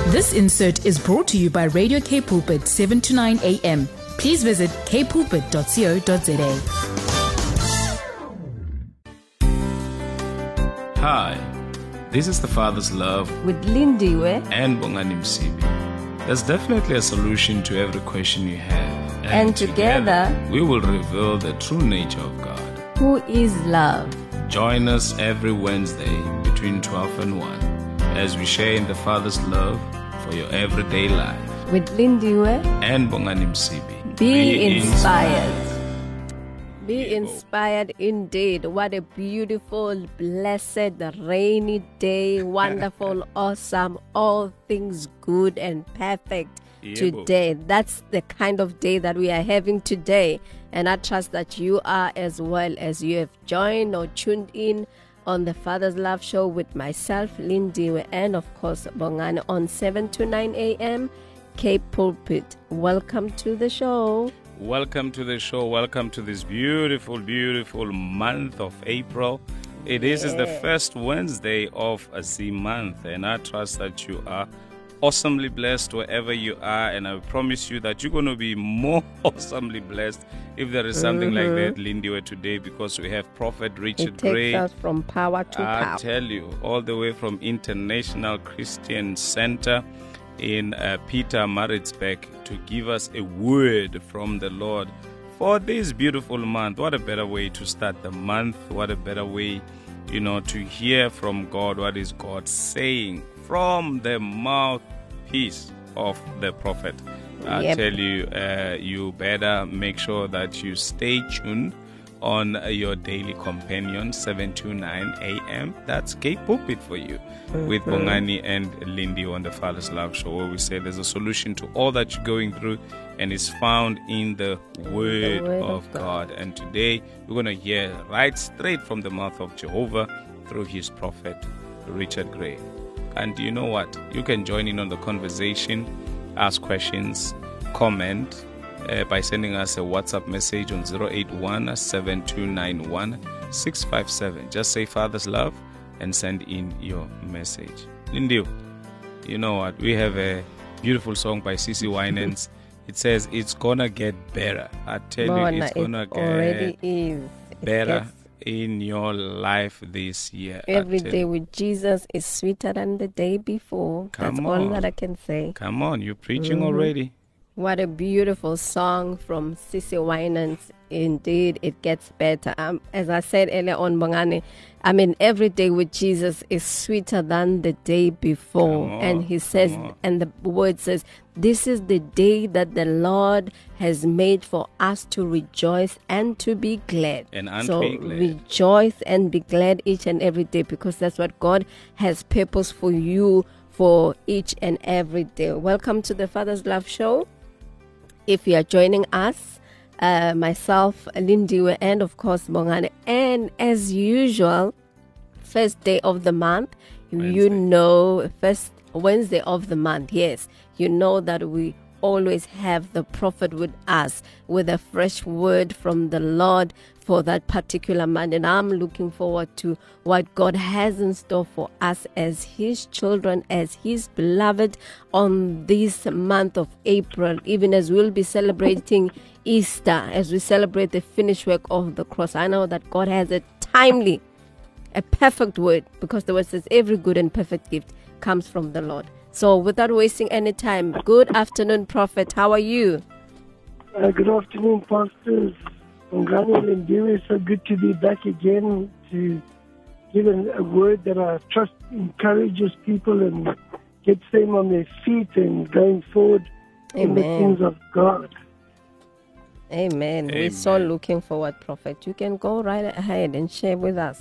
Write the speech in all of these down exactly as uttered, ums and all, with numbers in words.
This insert is brought to you by Radio K Pulpit, seven to nine a.m. Please visit k pulpit dot co dot za. Hi, this is The Father's Love with Lindiwe and Bongani Msibi. There's definitely a solution to every question you have. And, and together, together, we will reveal the true nature of God, who is love. Join us every Wednesday between twelve and one as we share in the Father's love for your everyday life. With Lindiwe and Bongani Msibi. Be, Be inspired. inspired. Be inspired indeed. What a beautiful, blessed, rainy day. Wonderful, awesome, all things good and perfect today. That's the kind of day that we are having today. And I trust that you are as well, as you have joined or tuned in on the Father's Love Show with myself, Lindiwe, and of course, Bongani on seven to nine a.m. K Pulpit. Welcome to the show. Welcome to the show. Welcome to this beautiful, beautiful month of April. It yeah. is the first Wednesday of the month, and I trust that you are awesomely blessed wherever you are, and I promise you that you're going to be more awesomely blessed if there is something mm-hmm. like that, Lindiwe, today, because we have Prophet Richard it Gray. It takes us from power to I power. I tell you, all the way from International Christian Center in uh, Peter Maritzburg to give us a word from the Lord for this beautiful month. What a better way to start the month. What a better way, you know, to hear from God. What is God saying from the mouthpiece of the prophet? I yep. tell you, uh, you better make sure that you stay tuned on uh, your daily companion, seven to nine a.m. That's K Pulpit for you, mm-hmm. with Bongani and Lindy on the Father's Love Show, where we say there's a solution to all that you're going through, and it's found in the Word, the word of, of God. God. And today, we're going to hear right straight from the mouth of Jehovah through his prophet, Richard Gray. And you know what? You can join in on the conversation, ask questions, comment uh, by sending us a WhatsApp message on zero eight one, seven two nine one, six five seven. Just say Father's Love and send in your message. Lindy, you know what? We have a beautiful song by C C Winans. It says, it's gonna get better. I tell Bona, you, it's gonna it get already is. better in your life this year. Every day with Jesus is sweeter than the day before. Come That's on. all that I can say. Come on, you're preaching mm-hmm. already. What a beautiful song from C C Winans. Indeed, it gets better. Um, as I said earlier on, Bongani, I mean, every day with Jesus is sweeter than the day before. On, and he says, and the word says, this is the day that the Lord has made for us to rejoice and to be glad. And, and so be glad. Rejoice and be glad each and every day, because that's what God has purpose for you for each and every day. Welcome to the Father's Love Show. If you are joining us, uh, myself, Lindiwe, and of course, Bongani, and as usual, first day of the month, Wednesday. you know, first Wednesday of the month, yes, you know that we always have the prophet with us with a fresh word from the Lord for that particular month. And I'm looking forward to what God has in store for us as his children, as his beloved on this month of April, even as we'll be celebrating Easter, as we celebrate the finished work of the cross. I know that God has a timely, a perfect word, because the word says every good and perfect gift comes from the Lord. So without wasting any time, good afternoon, Prophet. How are you? Uh, good afternoon, pastors. Bongani and Lindiwe, so good to be back again to give a, a word that I trust encourages people and gets them on their feet and going forward Amen. in the things of God. Amen. Amen. We're so looking forward, Prophet. You can go right ahead and share with us.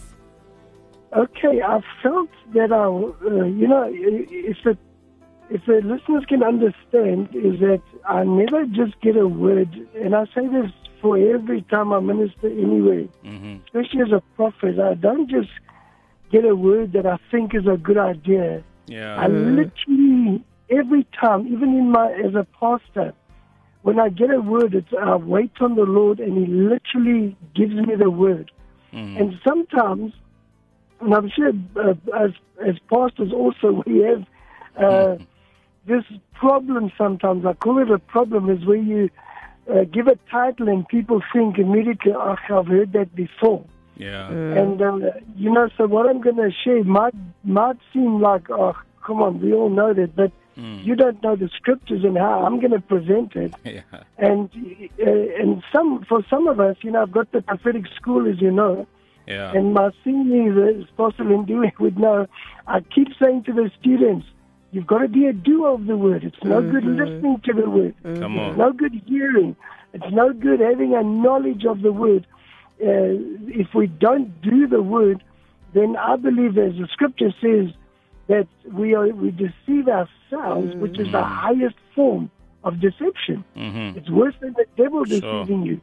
Okay, I felt that I, uh, you know, if the if the listeners can understand, is that I never just get a word, and I say this for every time I minister anyway, mm-hmm. especially as a prophet. I don't just get a word that I think is a good idea. Yeah. I literally, every time, even in my as a pastor, when I get a word, it's, I wait on the Lord, and he literally gives me the word. Mm-hmm. And sometimes, and I'm sure uh, as, as pastors also, we have uh, mm-hmm. this problem sometimes, I call it a problem, is where you uh, give a title and people think immediately, oh, I've heard that before. Yeah. Mm. And, uh, you know, so what I'm going to share might, might seem like, oh, come on, we all know that, but mm. you don't know the scriptures and how I'm going to present it. Yeah. And uh, and some for some of us, you know, I've got the prophetic school, as you know. Yeah. And my senior, as Pastor Lindu would know, I keep saying to the students, you've got to be a doer of the word. It's no mm-hmm. good listening to the word. Mm-hmm. Come on. It's no good hearing. It's no good having a knowledge of the word. Uh, if we don't do the word, then I believe, as the scripture says, that we are we deceive ourselves, mm-hmm. which is the highest form of deception. Mm-hmm. It's worse than the devil sure. deceiving you.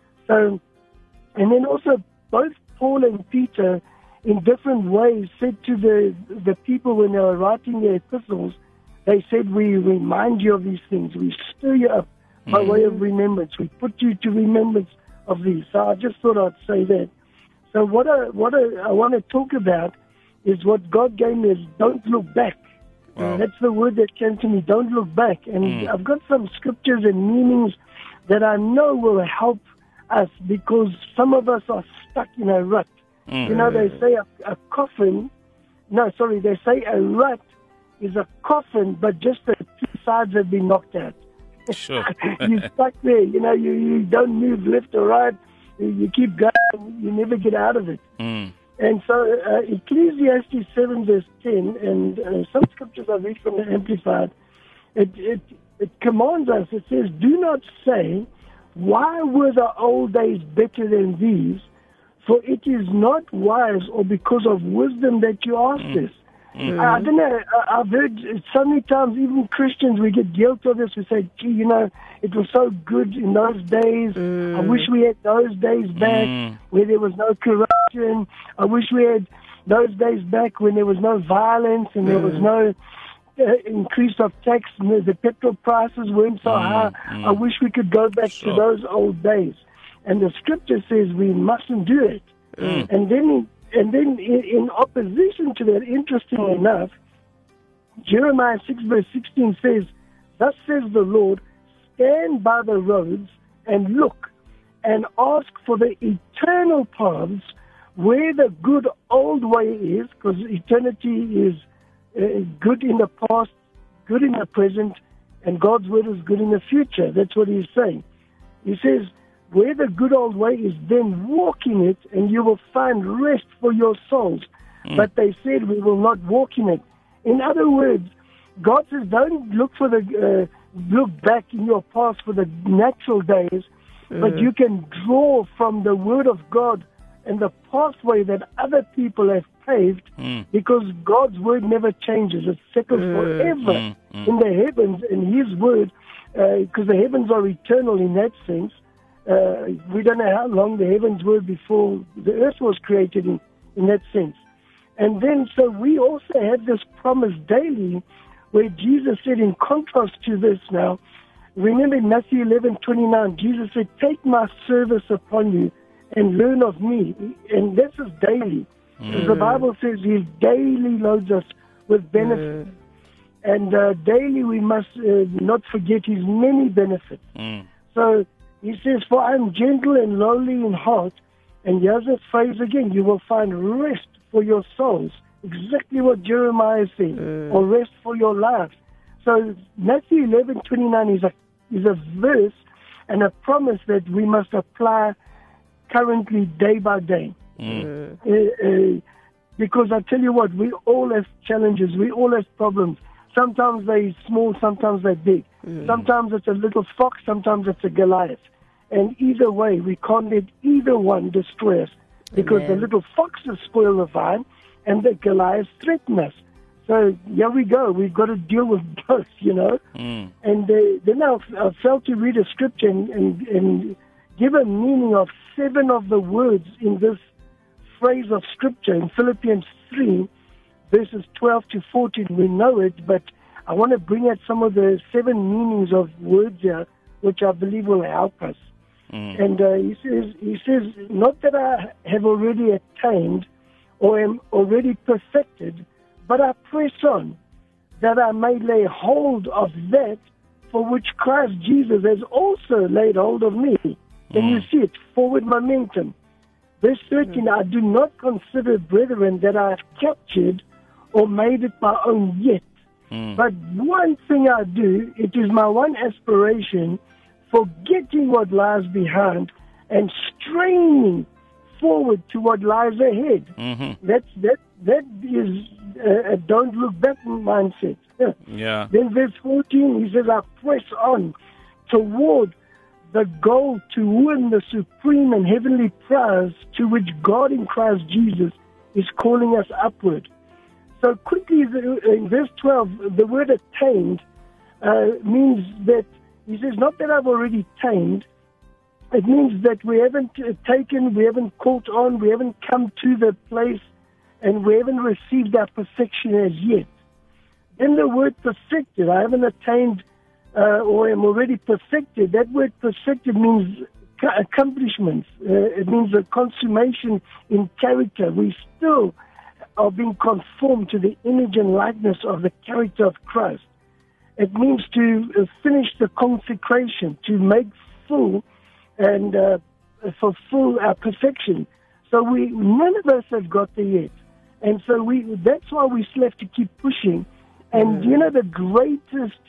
So, and then also both Paul and Peter, in different ways, said to the the people when they were writing their epistles, they said, we remind you of these things. We stir you up by mm-hmm. way of remembrance. We put you to remembrance of these. So I just thought I'd say that. So what I, what I, I want to talk about is what God gave me is don't look back. Wow. That's the word that came to me, don't look back. And mm. I've got some scriptures and meanings that I know will help us, because some of us are stuck in a rut. Mm. You know, they say a, a coffin, no, sorry, they say a rut is a coffin, but just the two sides have been knocked out. Sure. You're stuck there, you know, you, you don't move left or right, you, you keep going, you never get out of it. Mm. And so uh, Ecclesiastes seven verse ten, and uh, some scriptures I read from the Amplified, it, it, it commands us, it says, do not say, why were the old days better than these? For it is not wise or because of wisdom that you ask mm. this. Mm-hmm. I don't know, I, I've heard so many times, even Christians, we get guilty of this. We say, gee, you know, it was so good in those days. Mm. I wish we had those days back mm. where there was no corruption. I wish we had those days back when there was no violence and mm. there was no uh, increase of tax and the, the petrol prices weren't so mm. high. Mm. I wish we could go back sure. to those old days. And the scripture says we mustn't do it. Mm. And then And then in, in opposition to that, interestingly enough, Jeremiah six verse sixteen says, thus says the Lord, stand by the roads and look and ask for the eternal paths where the good old way is, because eternity is uh, good in the past, good in the present, and God's word is good in the future. That's what he's saying. He says, where the good old way is, then walk in it, and you will find rest for your souls. Mm. But they said, we will not walk in it. In other words, God says, don't look for the uh, look back in your past for the natural days, mm. but you can draw from the Word of God and the pathway that other people have paved, mm. because God's Word never changes. It's settled mm. forever mm. Mm. in the heavens, in His Word, because uh, the heavens are eternal in that sense. Uh, we don't know how long the heavens were before the earth was created in, in that sense. And then, so we also have this promise daily where Jesus said, in contrast to this now, remember in Matthew eleven twenty-nine, Jesus said, take my service upon you and learn of me. And this is daily. Mm. The Bible says He daily loads us with benefits. Mm. And uh, daily we must uh, not forget His many benefits. Mm. So, He says, for I am gentle and lowly in heart. And here's a phrase again, you will find rest for your souls. Exactly what Jeremiah said, mm. or rest for your lives. So Matthew eleven twenty-nine is a, is a verse and a promise that we must apply currently day by day. Mm. Uh, uh, because I tell you what, we all have challenges, we all have problems. Sometimes they're small, sometimes they're big. Mm. Sometimes it's a little fox, sometimes it's a Goliath. And either way, we can't let either one destroy us, because Amen. The little foxes spoil the vine and the Goliaths threaten us. So here we go. We've got to deal with both, you know. Mm. And uh, then I, I felt to read a scripture and, and, and give a meaning of seven of the words in this phrase of scripture in Philippians three, verses twelve to fourteen. We know it, but I want to bring out some of the seven meanings of words here, which I believe will help us. Mm. And uh, he says, he says, not that I have already attained or am already perfected, but I press on that I may lay hold of that for which Christ Jesus has also laid hold of me. Can mm. you see it? Forward momentum. Verse thirteen, mm. I do not consider, brethren, that I have captured or made it my own yet. Mm. But one thing I do, it is my one aspiration, forgetting what lies behind and straining forward to what lies ahead. Mm-hmm. That's, that, that is a, a don't look back mindset. Yeah. Then verse fourteen, he says, I press on toward the goal to win the supreme and heavenly prize to which God in Christ Jesus is calling us upward. So quickly, in verse twelve, the word attained uh, means that, he says, not that I've already attained, it means that we haven't uh, taken, we haven't caught on, we haven't come to the place, and we haven't received our perfection as yet. Then the word perfected, I haven't attained uh, or am already perfected. That word perfected means accomplishments. Uh, it means a consummation in character. We still are being conformed to the image and likeness of the character of Christ. It means to uh, finish the consecration, to make full and uh, fulfill our perfection. So we, none of us have got there yet. And so we, that's why we still have to keep pushing. And, mm. you know, the greatest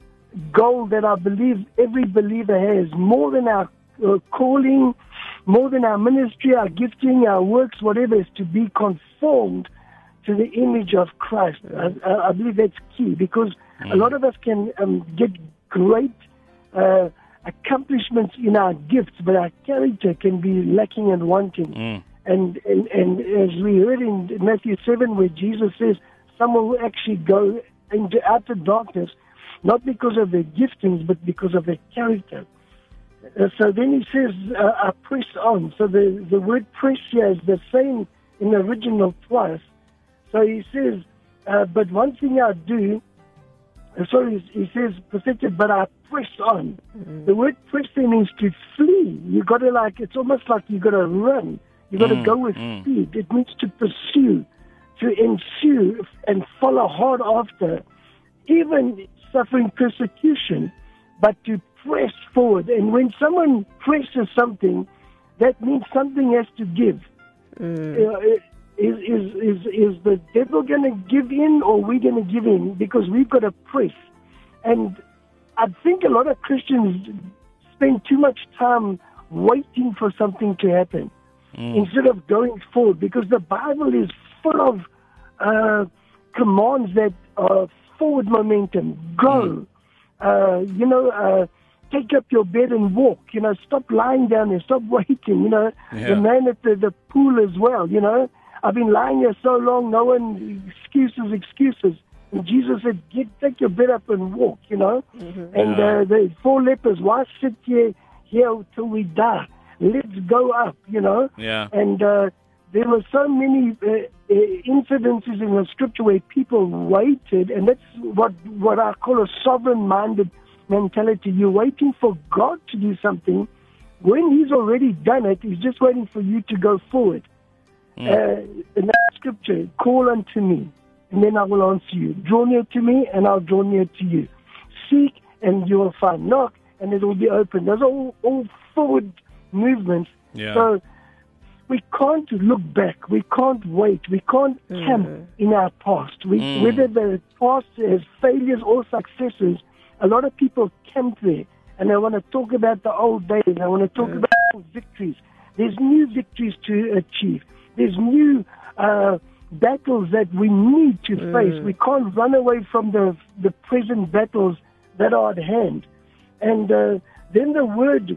goal that I believe every believer has, more than our uh, calling, more than our ministry, our gifting, our works, whatever, is to be conformed to the image of Christ. Mm. I, I believe that's key, because mm. a lot of us can um, get great uh, accomplishments in our gifts, but our character can be lacking and wanting. Mm. And, and, and as we heard in Matthew seven, where Jesus says, someone will actually go into outer darkness, not because of their giftings, but because of their character. Uh, so then he says, uh, I press on. So the, the word press here is the same in the original twice. So he says, uh, but one thing I do, uh, sorry, he says perfected, but I press on. Mm-hmm. The word press there means to flee. You got to like, it's almost like you got to run. You got to mm, go with mm. speed. It means to pursue, to ensue and follow hard after, even suffering persecution, but to press forward. And when someone presses something, that means something has to give. Mm. Uh, is, is, is, is the devil going to give in, or are we going to give in? Because we've got to press. And I think a lot of Christians spend too much time waiting for something to happen. Mm. Instead of going forward, because the Bible is full of uh, commands that are forward momentum. Go, mm. uh, you know, uh, take up your bed and walk. You know, stop lying down there, stop waiting. You know, yeah. The man at the, the pool as well. You know, I've been lying here so long. No one excuses, excuses. And Jesus said, "Get take your bed up and walk." You know, mm-hmm. and yeah. uh, the four lepers. Why sit here here till we die? Let's go up, you know. Yeah. And uh, there were so many uh, uh, incidences in the scripture where people waited, and that's what, what I call a sovereign-minded mentality. You're waiting for God to do something. When He's already done it, He's just waiting for you to go forward. Mm. Uh, in that scripture, call unto me, and then I will answer you. Draw near to me, and I'll draw near to you. Seek, and you will find. Knock, and it will be open. Those are all, all forward movements. Yeah. So we can't look back. We can't wait. We can't mm. camp in our past. We, mm. Whether the past has failures or successes, a lot of people camp there, and they want to talk about the old days. They want to talk mm. about old victories. There's new victories to achieve. There's new uh, battles that we need to mm. face. We can't run away from the the present battles that are at hand. And uh, then the word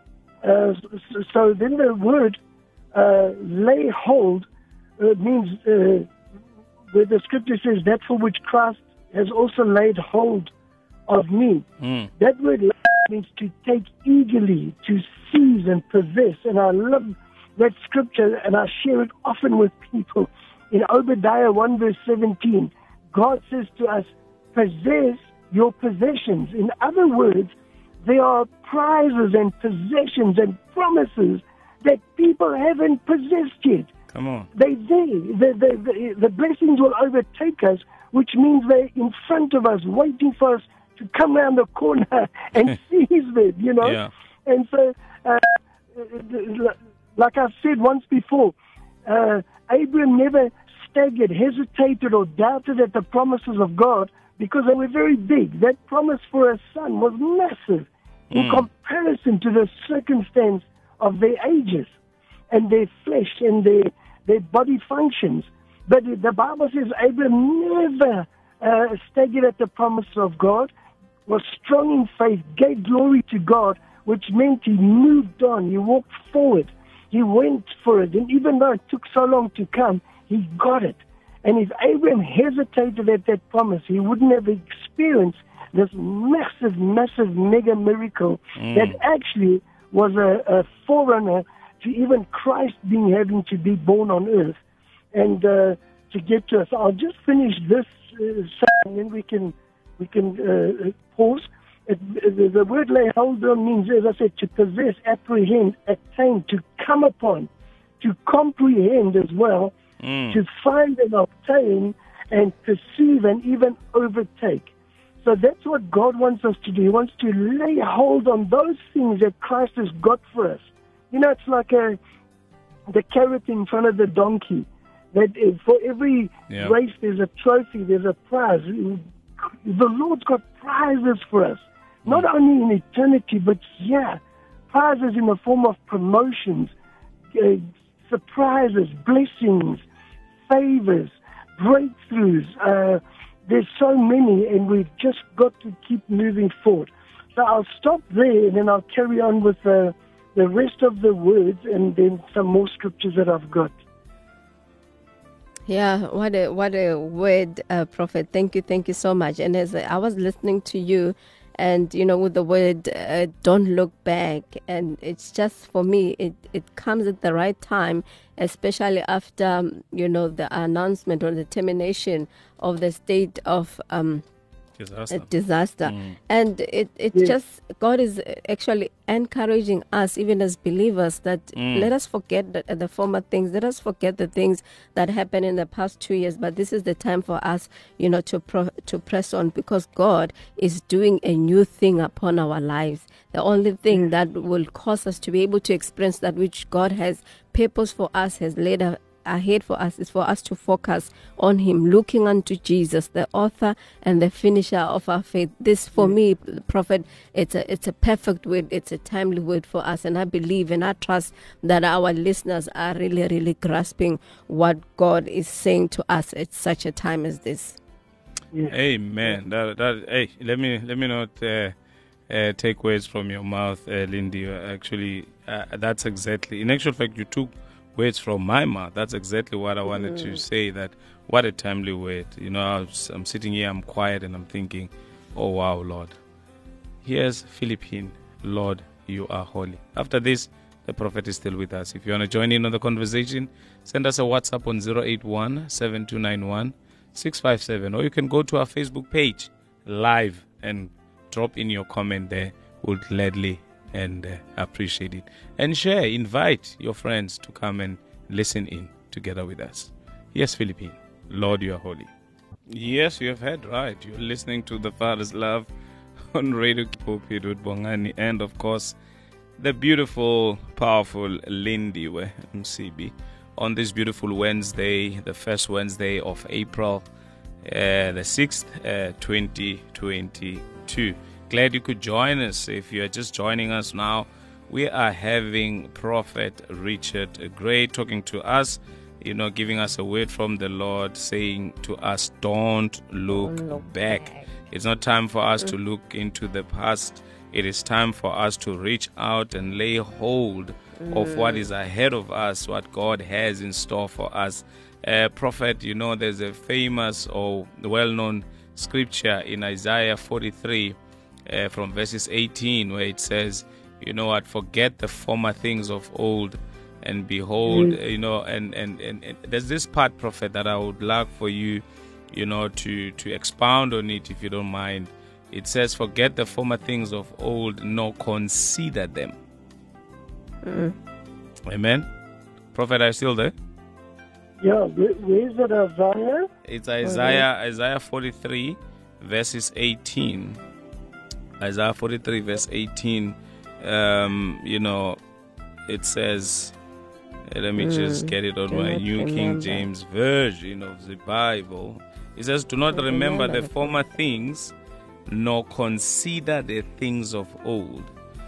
Uh, so, so then the word uh, lay hold uh, means uh, where the scripture says that for which Christ has also laid hold of me. Mm. That word means to take eagerly, to seize and possess. And I love that scripture, and I share it often with people. In Obadiah one verse seventeen, God says to us, possess your possessions. In other words, there are prizes and possessions and promises that people haven't possessed yet. Come on. They're there. The, the, the, the blessings will overtake us, which means they're in front of us, waiting for us to come around the corner and seize them, you know? Yeah. And so, uh, like I've said once before, uh, Abraham never staggered, hesitated, or doubted at the promises of God because they were very big. That promise for a son was massive in Mm. comparison to the circumstance of their ages and their flesh and their, their body functions. But the Bible says Abraham never uh, staggered at the promise of God, was strong in faith, gave glory to God, which meant he moved on, he walked forward, he went for it. And even though it took so long to come, he got it. And if Abraham hesitated at that promise, he wouldn't have experienced this massive, massive mega miracle Mm. that actually was a, a forerunner to even Christ being having to be born on earth and uh, to get to us. I'll just finish this uh, and then we can we can uh, pause. It, the, the word lay hold on means, as I said, to possess, apprehend, attain, to come upon, to comprehend as well, Mm. to find and obtain and perceive and even overtake. So that's what God wants us to do. He wants to lay hold on those things that Christ has got for us. You know, it's like a, the carrot in front of the donkey. That is, for every Yeah. race, there's a trophy, there's a prize. The Lord's got prizes for us, not only in eternity, but yeah, prizes in the form of promotions, uh, surprises, blessings, favors, breakthroughs. Uh, there's so many, and we've just got to keep moving forward. So I'll stop there, and then I'll carry on with uh, the rest of the words, and then some more scriptures that I've got. Yeah, what a what a word, uh, Prophet. Thank you, thank you so much. And as I was listening to you, and you know, with the word uh, "don't look back," and it's just for me, it it comes at the right time, especially after um, you know the announcement or the termination of the state of um, Disaster. a disaster. Mm. And it, it Yes. just, God is actually encouraging us, even as believers, that Mm. let us forget the, the former things. Let us forget the things that happened in the past two years. But this is the time for us, you know, to pro, to press on, because God is doing a new thing upon our lives. The only thing that will cause us to be able to experience that which God has purpose for us, has laid a, ahead for us, is for us to focus on Him, looking unto Jesus, the author and the finisher of our faith. This, for me, Prophet, it's a it's a perfect word. It's a timely word for us, and I believe and I trust that our listeners are really, really grasping what God is saying to us at such a time as this. Yes. Amen. That, that, hey, let me let me not uh, uh, take words from your mouth, uh, Lindy. Actually, uh, that's exactly. In actual fact, you took words from my mouth. That's exactly what I wanted to say. That what a timely word. You know, I was, I'm sitting here, I'm quiet, and I'm thinking, oh wow, Lord. Here's Philippine. Lord, you are holy. After this, the prophet is still with us. If you want to join in on the conversation, send us a WhatsApp on zero eight one, seven two nine one, six five seven, or you can go to our Facebook page live and drop in your comment there. We'll gladly and uh, appreciate it. And share, invite your friends to come and listen in together with us. Yes, Philippine, Lord, you are holy. Yes, you have heard right. You're listening to The Father's Love on Radio Pulpit with Bongani, and of course, the beautiful, powerful Lindy M C B on this beautiful Wednesday, the first Wednesday of April, uh, the sixth, uh, twenty twenty-two. Glad you could join us. If you're just joining us now, we are having Prophet Richard Gray talking to us, you know, giving us a word from the Lord, saying to us, don't look, Don't look back. back. It's not time for us to look into the past. It is time for us to reach out and lay hold of what is ahead of us, what God has in store for us. Uh, Prophet, you know, there's a famous or well-known scripture in Isaiah forty-three uh, from verses eighteen, where it says, you know what, forget the former things of old, and behold, Mm. uh, you know, and, and, and, and there's this part, Prophet, that I would like for you, you know, to, to expound on it, if you don't mind. It says, forget the former things of old, nor consider them. Mm. Amen. Prophet, are you still there? Yeah, where, where is it, Isaiah? It's Isaiah, Isaiah forty-three, verses eighteen. Isaiah forty-three, verse eighteen. Um, you know, it says, uh, let me mm, just get it on my New remember. King James Version of the Bible. It says, do not remember, remember the former things, nor consider the things of old.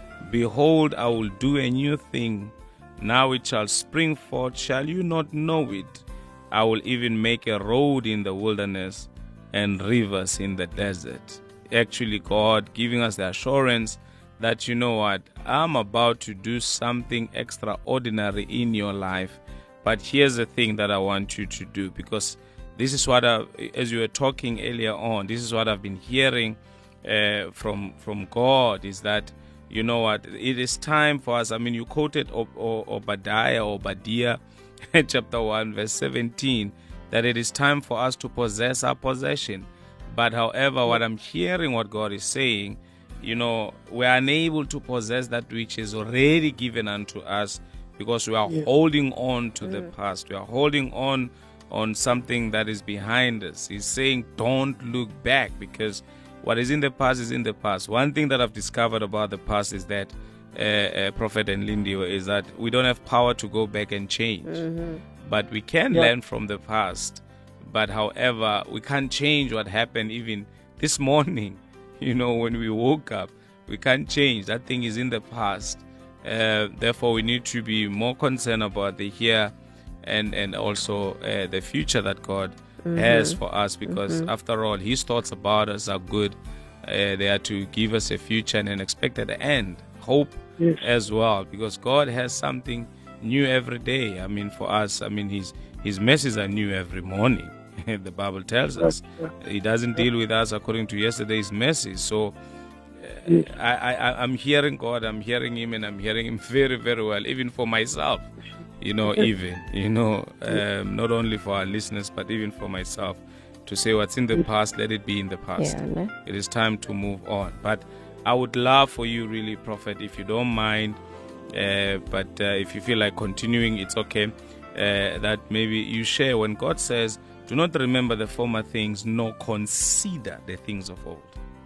Behold, I will do a new thing. Now it shall spring forth. Shall you not know it? I will even make a road in the wilderness and rivers in the desert. Actually, God giving us the assurance that, you know what, I'm about to do something extraordinary in your life. But here's the thing that I want you to do, because this is what, I, as you were talking earlier on, this is what I've been hearing uh, from from God, is that, you know what, it is time for us. I mean, you quoted Ob- Ob- Obadiah, Obadiah, chapter one, verse seventeen, that it is time for us to possess our possession. But however, what I'm hearing, what God is saying, you know, we are unable to possess that which is already given unto us, because we are yeah. holding on to mm. the past. We are holding on on something that is behind us. He's saying, don't look back, because what is in the past is in the past. One thing that I've discovered about the past is that, uh, uh, Prophet and Lindy, is that we don't have power to go back and change. Mm-hmm. But we can yeah. learn from the past. But however, we can't change what happened even this morning. You know, when we woke up, we can't change. That thing is in the past. Uh, therefore, we need to be more concerned about the here and, and also uh, the future that God mm-hmm. has for us, because mm-hmm. after all, His thoughts about us are good. Uh, they are to give us a future and an expected end, hope yes. as well, because God has something new every day. I mean, for us, I mean, His His mercies are new every morning. The Bible tells us He doesn't deal with us according to yesterday's mercies. So uh, yes. I, I, I'm hearing God, I'm hearing Him, and I'm hearing Him very, very well, even for myself, you know, even, you know, um, not only for our listeners, but even for myself, to say what's in the past, let it be in the past. Yeah, no? It is time to move on. But I would love for you, really, Prophet, if you don't mind, uh, but uh, if you feel like continuing, it's okay, uh, that maybe you share when God says, do not remember the former things, nor consider the things of old.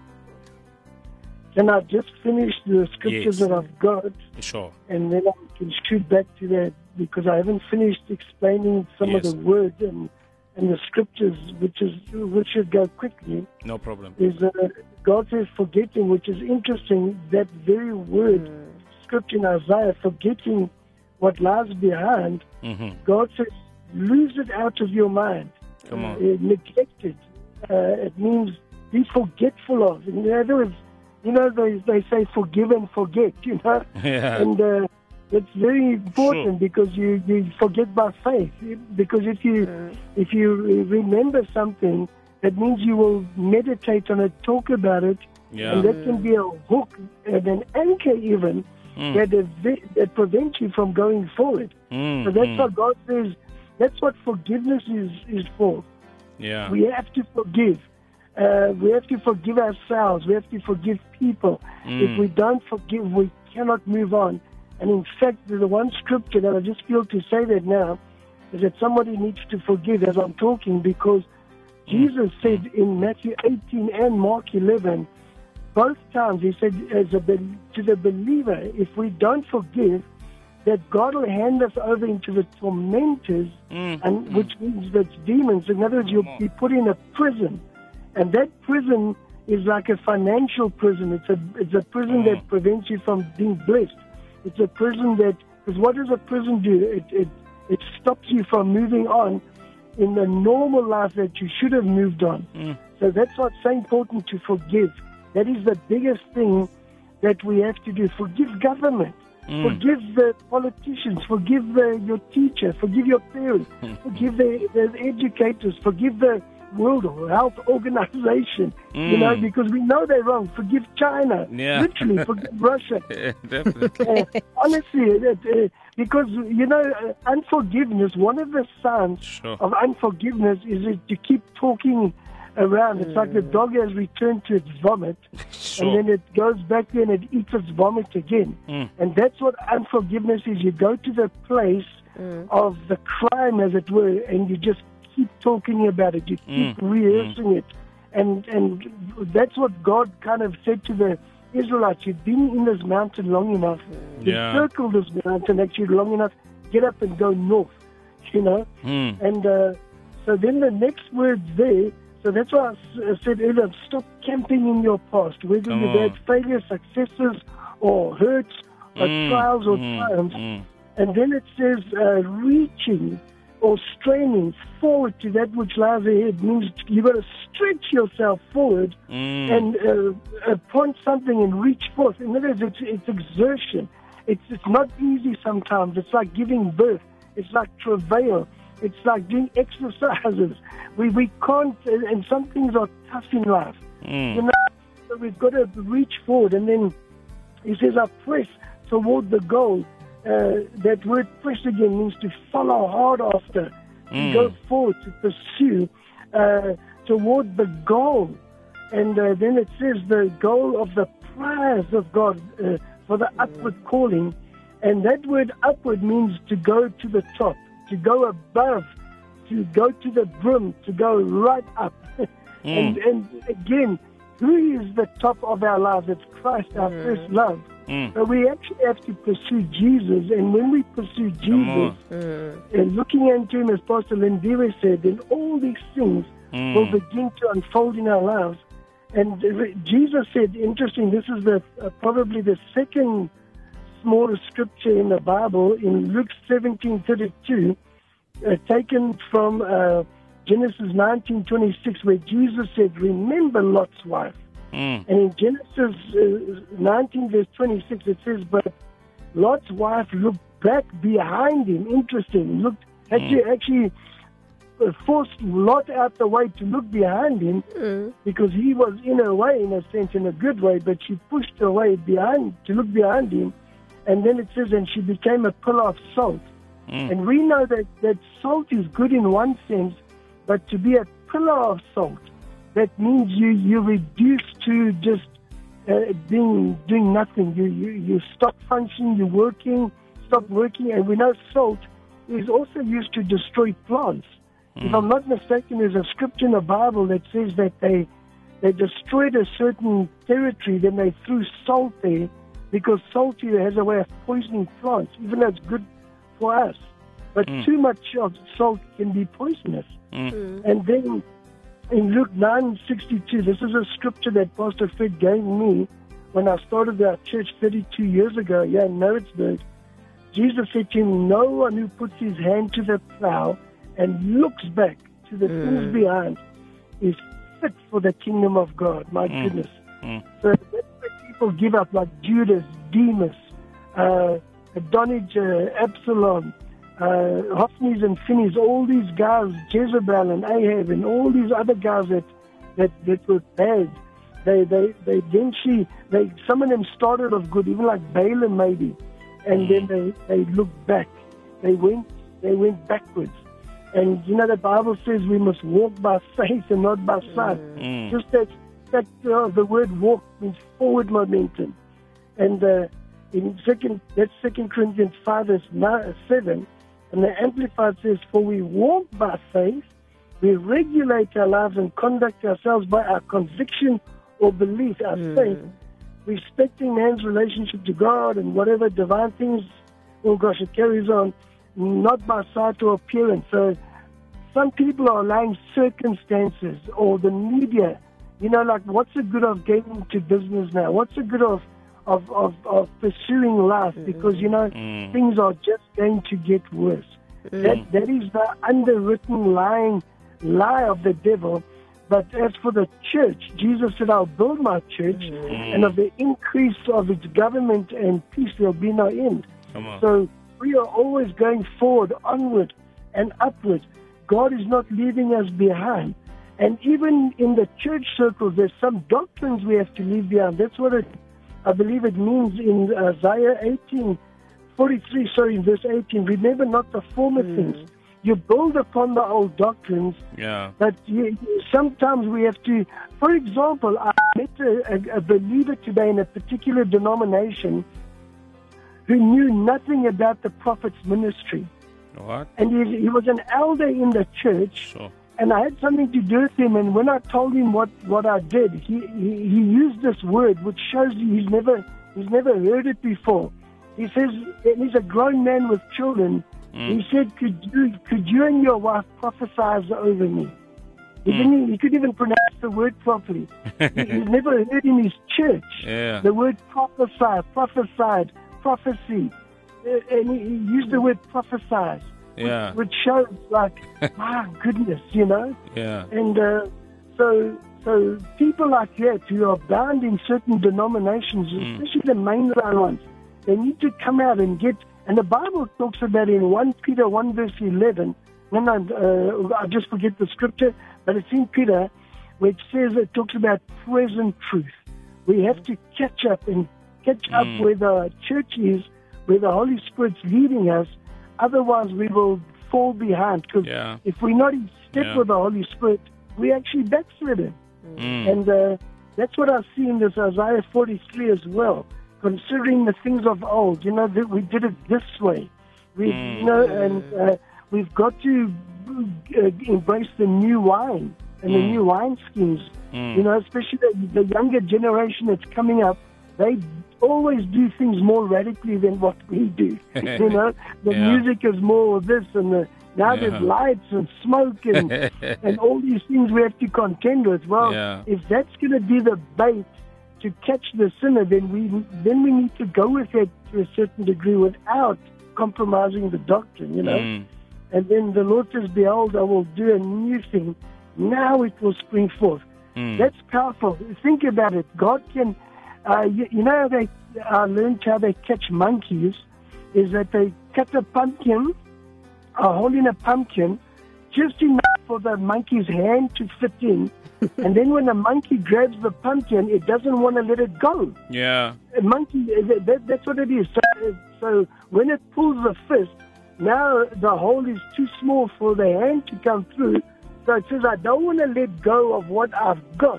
Can I just finish the scriptures yes. that I've got? Sure. And then I can shoot back to that, because I haven't finished explaining some yes. of the words and, and the scriptures, which is which should go quickly. No problem. Is uh, God says forgetting, which is interesting, that very word, mm. scripture in Isaiah, forgetting what lies behind, mm-hmm. God says, lose it out of your mind. Come on. Uh, neglected. Uh, it means be forgetful of. In other words, you know, they, they say forgive and forget, you know. Yeah. And uh, it's very important sure. because you, you forget by faith. Because if you mm. if you remember something, that means you will meditate on it, talk about it, yeah. and that can be a hook and an anchor even mm. that, that prevents you from going forward. Mm. So that's mm. what God says. That's what forgiveness is, is for. Yeah. We have to forgive. Uh, we have to forgive ourselves. We have to forgive people. Mm. If we don't forgive, we cannot move on. And in fact, the one scripture that I just feel to say that now is that somebody needs to forgive as I'm talking, because mm. Jesus said in Matthew eighteen and Mark eleven, both times he said as a, to the believer, if we don't forgive, that God will hand us over into the tormentors, mm. and which means that's demons. In other words, you'll be put in a prison. And that prison is like a financial prison. It's a it's a prison mm. that prevents you from being blessed. It's a prison that, because what does a prison do? It, it, it stops you from moving on in the normal life that you should have moved on. Mm. So that's what's so important, to forgive. That is the biggest thing that we have to do. Forgive government. Mm. Forgive the politicians, forgive the, your teacher, forgive your parents, forgive the, the educators, forgive the World Health Organization, mm. you know, because we know they're wrong. Forgive China, yeah. literally, forgive Russia. Yeah, definitely. Uh, honestly, uh, because, you know, uh, unforgiveness, one of the signs sure. of unforgiveness is it, to keep talking around. It's mm. like the dog has returned to its vomit, sure. and then it goes back there and it eats its vomit again. Mm. And that's what unforgiveness is. You go to the place mm. of the crime, as it were, and you just keep talking about it, you keep Mm. rehearsing mm. it. And and that's what God kind of said to the Israelites. You've been in this mountain long enough. You've Yeah. circled this mountain actually long enough. Get up and go north, you know. Mm. And uh, so then the next word there, so that's why I s- I said earlier, stop camping in your past, whether Come you've had on. failures, successes, or hurts, or Mm, trials or mm, triumphs. mm. And then it says uh, reaching or straining forward to that which lies ahead means you've got to stretch yourself forward Mm. and uh, uh, point something and reach forth. In other words, it's, it's exertion. It's, it's not easy sometimes. It's like giving birth. It's like travail. It's like doing exercises. We, we can't, and and some things are tough in life. Mm. You know, so we've got to reach forward. And then he says, I press toward the goal. Uh, that word press again means to follow hard after, to Mm. go forward, to pursue uh, toward the goal. And uh, then it says the goal of the prize of God uh, for the upward calling. And that word upward means to go to the top, to go above, to go to the brim, to go right up. and, and again, who is the top of our lives? It's Christ, our Mm. first love. Mm. So we actually have to pursue Jesus, and when we pursue Come Jesus, on. Mm. and looking into Him, as Pastor Lindiwe said, then all these things Mm. will begin to unfold in our lives. And uh, Jesus said, interesting, this is the uh, probably the second smallest scripture in the Bible, in Luke seventeen thirty-two, uh, taken from uh, Genesis nineteen twenty-six, where Jesus said, remember Lot's wife. Mm. And in Genesis uh, nineteen, verse twenty-six, it says, but Lot's wife looked back behind him. Interesting. Looked, had Mm. to actually uh, forced Lot out the way to look behind him Mm. because he was in a way, in a sense, in a good way, but she pushed away behind to look behind him. And then it says, and she became a pillar of salt. Mm. And we know that, that salt is good in one sense, but to be a pillar of salt, that means you, you reduce to just uh, being doing nothing. You, you you stop functioning, you're working, stop working. And we know salt is also used to destroy plants. If I'm not mistaken, there's a scripture in the Bible that says that they they destroyed a certain territory, then they threw salt there because salt has a way of poisoning plants, even though it's good for us. But Mm. too much of salt can be poisonous. Mm. And then in Luke nine sixty-two, this is a scripture that Pastor Fred gave me when I started our church thirty-two years ago, yeah, in Maritzburg. Jesus said to him, no one who puts his hand to the plow and looks back to the things behind is fit for the kingdom of God. My Mm. goodness. Mm. So that's where people give up, like Judas, Demas, uh, Adonijah, Absalom, uh, Hophnies and Phinehas, all these guys, Jezebel and Ahab, and all these other guys that that, that were bad. They they they eventually they some of them started off good, even like Balaam maybe, and then they they looked back. They went they went backwards. And you know the Bible says we must walk by faith and not by sight. Mm. Just that that uh, the word walk means forward momentum. And uh, in second that's Second Corinthians five verse nine, seven, and the Amplified says, "For we walk by faith, we regulate our lives and conduct ourselves by our conviction or belief, our faith, respecting man's relationship to God and whatever divine things." Oh gosh, it carries on. Not by sight or appearance. So some people are allowing circumstances or the media, you know, like what's the good of getting into business now? What's the good of of, of, of pursuing life? Because, you know, Mm. things are just going to get worse. That That is the underwritten lying lie of the devil. But as for the church, Jesus said, I'll build my church, and of the increase of its government and peace, there'll be no end. Come on. So we are always going forward, onward and upward. God is not leaving us behind. And even in the church circles, there's some doctrines we have to leave behind. That's what it, I believe it means in Isaiah eighteen forty-three, sorry, in verse eighteen. Remember not the former things. You build upon the old doctrines, Yeah. but you, sometimes we have to, for example, I met a, a, a believer today in a particular denomination who knew nothing about the prophet's ministry. What? And he, he was an elder in the church. Sure. And I had something to do with him. And when I told him what, what I did, he, he, he used this word, which shows you he's never, he's never heard it before. He says, and he's a grown man with children. Mm. He said, could you, could you and your wife prophesy over me? He, mm. didn't, he couldn't even pronounce the word properly. he, he's never heard in his church yeah. the word prophesy, prophesied, prophecy. Uh, and he, he used the word prophesize. Yeah. Which, which shows, like, my goodness, you know? Yeah. And uh, so so people like that who are bound in certain denominations, mm. especially the mainline ones, they need to come out and get, and the Bible talks about in First Peter one verse eleven, no, no, uh, I just forget the scripture, but it's in Peter, which says, it talks about present truth. We have to catch up and catch mm. up where the church is, where the Holy Spirit's leading us. Otherwise, we will fall behind. Because yeah. if we're not in step yeah. with the Holy Spirit, we actually backslidden. Mm. And uh, that's what I see in this Isaiah forty-three as well. Considering the things of old, you know, that we did it this way. We, Mm. you know, and uh, we've got to uh, embrace the new wine and Mm. the new wine schemes. Mm. You know, especially the, the younger generation that's coming up. They always do things more radically than what we do. You know, the yeah. music is more of this, and the, now yeah. there's lights and smoke and and all these things we have to contend with. Well, yeah. if that's going to be the bait to catch the sinner, then we then we need to go with it to a certain degree without compromising the doctrine. You know, Mm. and then the Lord says, "Behold, I will do a new thing. Now it will spring forth." Mm. That's powerful. Think about it. God can. Uh, you, you know, how they I learned how they catch monkeys is that they cut a pumpkin, are holding a pumpkin, just enough for the monkey's hand to fit in, and then when the monkey grabs the pumpkin, it doesn't want to let it go. Yeah. A monkey, that, that's what it is. So, so when it pulls the fist, now the hole is too small for the hand to come through. So it says, I don't want to let go of what I've got.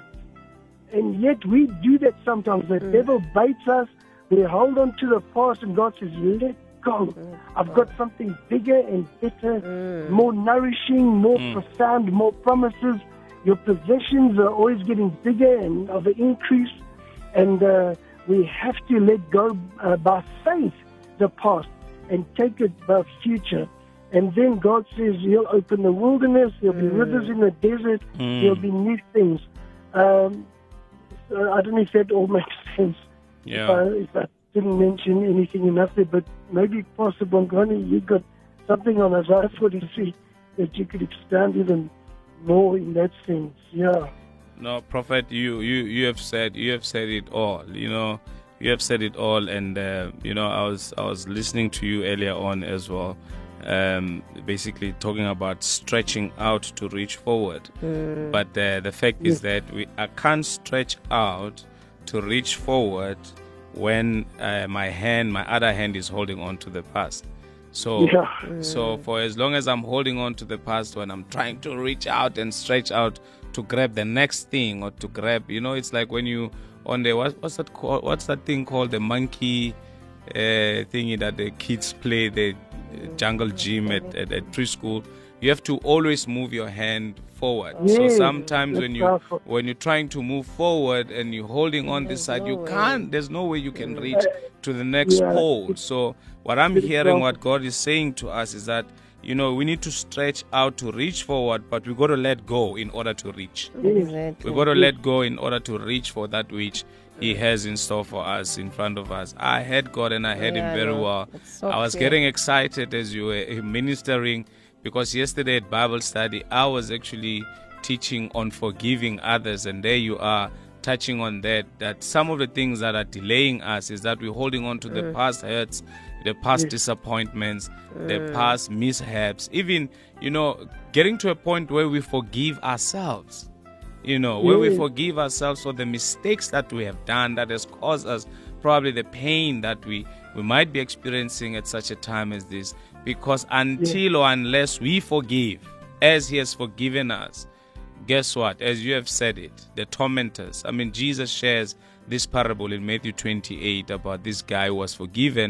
And yet we do that sometimes. The mm. devil baits us. We hold on to the past, and God says, let go. Mm. I've got something bigger and better, mm. more nourishing, more mm. profound, more promises. Your possessions are always getting bigger and of an increase. And uh, we have to let go uh, by faith the past and take it by future. And then God says He'll open the wilderness. There'll be mm. rivers in the desert. Mm. There'll be new things. Um, so I don't know if that all makes sense. Yeah. If I, if I didn't mention anything enough there, but maybe Pastor Bongani, you got something on Isaiah forty-three that you could expand even more in that sense. Yeah. No, Prophet, you, you, you have said you have said it all. You know, you have said it all, and uh, you know, I was I was listening to you earlier on as well. Um, basically talking about stretching out to reach forward. Mm. But uh, the fact yes. is that we I can't stretch out to reach forward when uh, my hand, my other hand is holding on to the past. So, yeah. mm. so for as long as I'm holding on to the past, when I'm trying to reach out and stretch out to grab the next thing or to grab, you know, it's like when you on the what, what's that called? What's that thing called? The monkey uh, thingy that the kids play, the jungle gym at, at, at preschool. You have to always move your hand forward. Yes, so sometimes when you powerful. when you're trying to move forward and you're holding on this side, no you way. can't. There's no way you can reach to the next yeah. pole. So what I'm hearing, what God is saying to us is that, you know, we need to stretch out to reach forward, but we got to let go in order to reach. Exactly. We got to let go in order to reach for that which He has in store for us, in front of us. I heard God and I heard Yeah, Him very no, well. so I was clear. getting excited as you were ministering, because yesterday at Bible study, I was actually teaching on forgiving others, and there you are touching on that, that some of the things that are delaying us is that we're holding on to the Mm. past hurts, the past Yes. disappointments, Mm. the past mishaps, even, you know, getting to a point where we forgive ourselves. You know, where we Yes. forgive ourselves for the mistakes that we have done that has caused us probably the pain that we, we might be experiencing at such a time as this. Because until or unless we forgive as He has forgiven us, guess what? As you have said it, the tormentors. I mean, Jesus shares this parable in Matthew twenty-eight about this guy who was forgiven,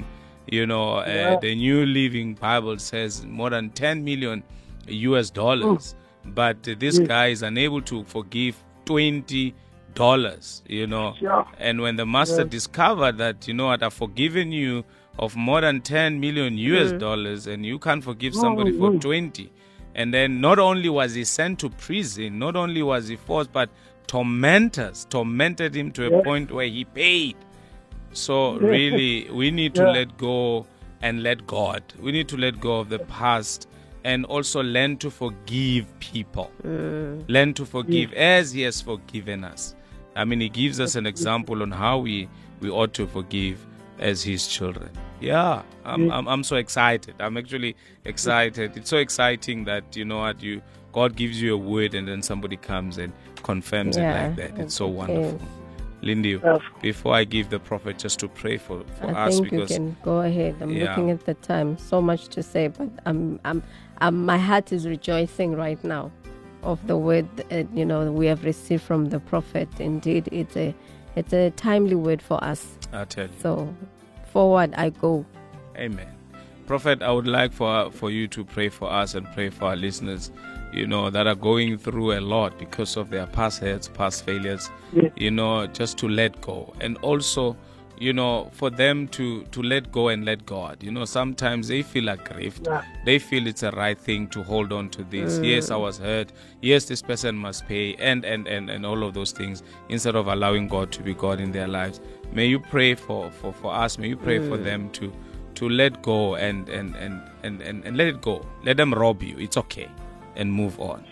You know, uh, Yeah. the New Living Bible says more than ten million U S dollars. But uh, this Yes. guy is unable to forgive twenty dollars, you know. Yeah. And when the master Yes. discovered that, you know what, I've forgiven you of more than ten million U S dollars and you can't forgive somebody for Mhm. twenty. And then not only was he sent to prison, not only was he forced, but tormentors tormented him to a Yes. point where he paid. So Yes. really, we need to Yeah. let go and let God. We need to let go of the past and also learn to forgive people. Learn to forgive as He has forgiven us. I mean, He gives us an example on how we, we ought to forgive as His children. Yeah, I'm, I'm I'm so excited. I'm actually excited. It's so exciting that, you know what, you God gives you a word and then somebody comes and confirms Yeah, it like that. It's so okay. wonderful. Lindy, Yes. before I give the prophet just to pray for, for I us, think you because can go ahead. I'm Yeah. looking at the time. So much to say, but I'm, I'm, I'm, my heart is rejoicing right now of the word uh, you know we have received from the prophet. Indeed, it's a, it's a timely word for us. I tell you, So, forward I go. Amen. Prophet, I would like for for you to pray for us and pray for our listeners, you know, that are going through a lot because of their past hurts, past failures, Yes. you know, just to let go. And also, you know, for them to, to let go and let God. You know, sometimes they feel aggrieved. Yeah. They feel it's a right thing to hold on to this. Yes, I was hurt. Yes, this person must pay, and, and, and, and all of those things, instead of allowing God to be God in their lives. May you pray for, for, for us. May you pray for them to to let go and, and, and, and, and, and let it go. Let them rob you. It's okay. And move on.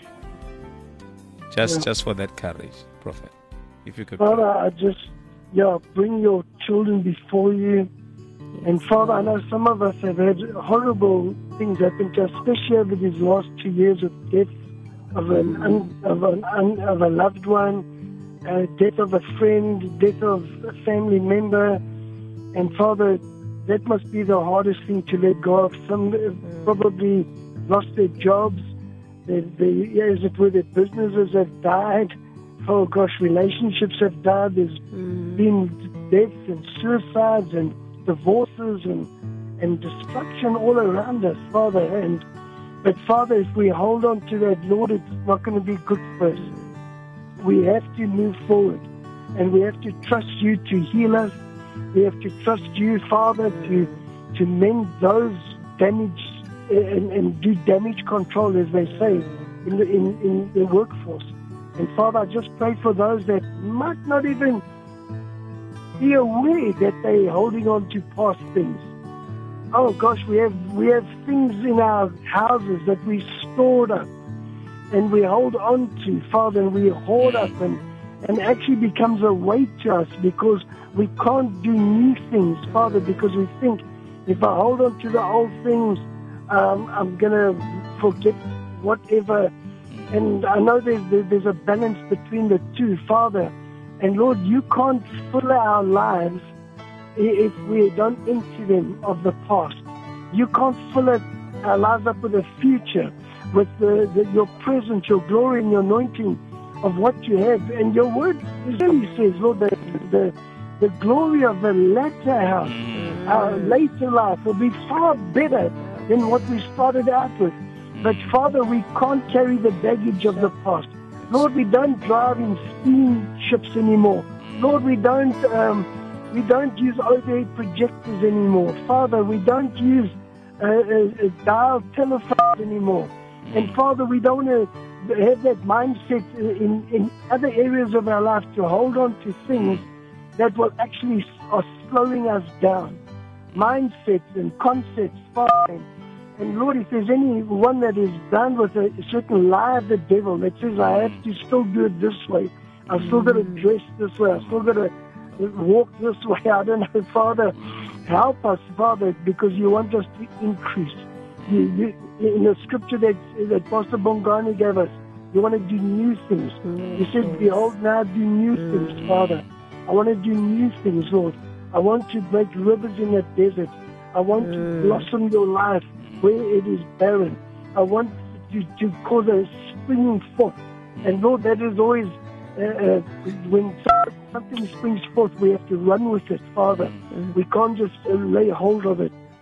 Just Yeah. just for that courage, Prophet. If you could Father, pray. I just, yeah, bring your children before you. And Father, I know some of us have had horrible things happen to us, especially over these last two years of death of an un, of an un, of a loved one, uh, death of a friend, death of a family member. And Father, that must be the hardest thing to let go of. Some have probably lost their jobs. They, they, yeah, as it were, their businesses have died. Oh gosh, relationships have died. There's been deaths and suicides and divorces and and destruction all around us, Father. And but Father, if we hold on to that, Lord, it's not going to be good for us. We have to move forward, and we have to trust you to heal us. We have to trust you, Father, to to mend those damaged and, and do damage control, as they say, in the in, in the workforce. And Father, I just pray for those that might not even be aware that they're holding on to past things. Oh gosh, we have we have things in our houses that we stored up and we hold on to, Father, and we hoard up, and, and actually becomes a weight to us because we can't do new things, Father, because we think if I hold on to the old things, um, I'm going to forget whatever. And I know there's, there's a balance between the two, Father. And Lord, you can't fill our lives if we don't empty them of the past. You can't fill it, our lives up with a future, with the, the, your presence, your glory, and your anointing of what you have. And your word really says, Lord, that the, the glory of the latter house, our later life, will be far better than what we started out with. But Father, we can't carry the baggage of the past. Lord, we don't drive in steamships anymore. Lord, we don't um, we don't use overhead projectors anymore. Father, we don't use uh, uh, dial telephones anymore. And Father, we don't want to have that mindset in, in other areas of our life to hold on to things that will actually are slowing us down. Mindsets and concepts, Father. And Lord, if there's anyone that is bound with a certain lie of the devil that says, I have to still do it this way, I've still got to dress this way, I've still got to walk this way, I don't know, Father, help us, Father, because you want us to increase. You, you, in the scripture that, that Pastor Bongani gave us, you want to do new things. You said, behold, now do new things, Father. I want to do new things, Lord. I want to break rivers in the desert. I want to blossom your life where it is barren. I want to, to cause a springing forth. And Lord, that is always, uh, uh, when something springs forth, we have to run with it, Father. We can't just uh, lay hold of it.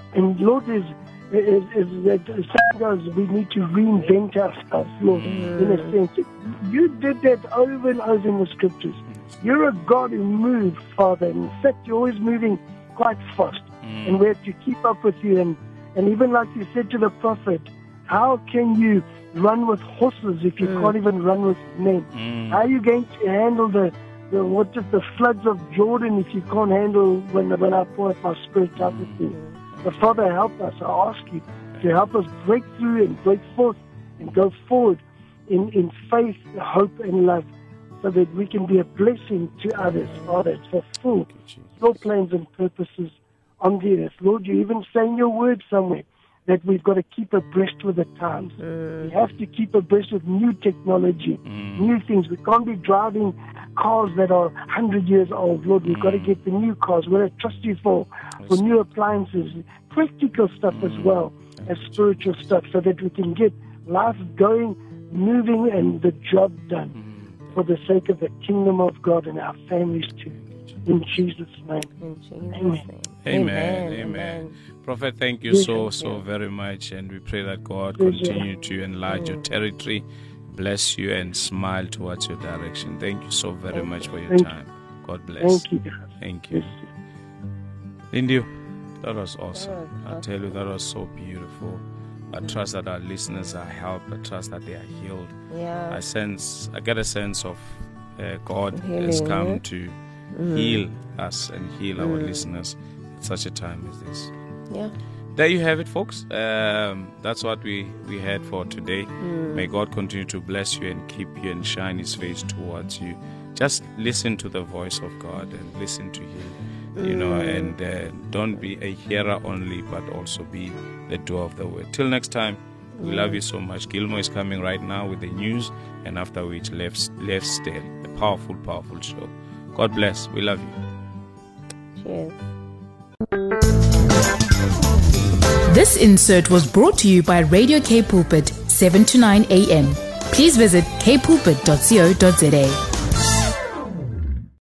And Lord, is is, is that sometimes we need to reinvent ourselves, Lord, mm. in a sense. You did that over and over in the scriptures. You're a God who moves, Father. In fact, you're always moving quite fast. Mm. And we have to keep up with you. And, and even like you said to the prophet, how can you run with horses if you mm. can't even run with men? Mm. How are you going to handle the, the what is the floods of Jordan if you can't handle when, when I pour out my spirit out with you? But Father, help us. I ask you to help us break through and break forth and go forward in, in faith, hope, and love, so that we can be a blessing to others, Father, to fulfill your plans and purposes on the earth. Lord, you even say in your word somewhere that we've got to keep abreast with the times. Mm. We have to keep abreast with new technology, mm. new things. We can't be driving cars that are one hundred years old. Lord, we've mm. got to get the new cars. We're going to trust you for, for new appliances, practical stuff mm. as well as spiritual stuff, so that we can get life going, moving, and the job done mm. for the sake of the kingdom of God and our families too. In Jesus' name. In Jesus' Amen. name. Amen. Amen. Amen. Prophet, thank you so, so very much. And we pray that God continue to enlarge your territory, bless you, and smile towards your direction. Thank you so very much for your Thank time. God bless. Thank you. Thank you. Lindy, that was awesome. I tell you, that was so beautiful. I trust that our listeners are helped. I trust that they are healed. Yeah. I sense, I get a sense of uh, God Healing, has come yeah? to Mm. heal us and heal our Mm. listeners at such a time as this. Yeah. There you have it, folks. Um, that's what we, we had for today. Mm. May God continue to bless you and keep you and shine His face towards you. Just listen to the voice of God and listen to Him, you know, and uh, don't be a hearer only, but also be the doer of the word. Till next time, we love you so much. Gilmore is coming right now with the news, and after which, Left, Left Still, a powerful, powerful show. God bless. We love you. Cheers. This insert was brought to you by Radio K Pulpit, seven to nine a.m. Please visit k pulpit dot co dot za.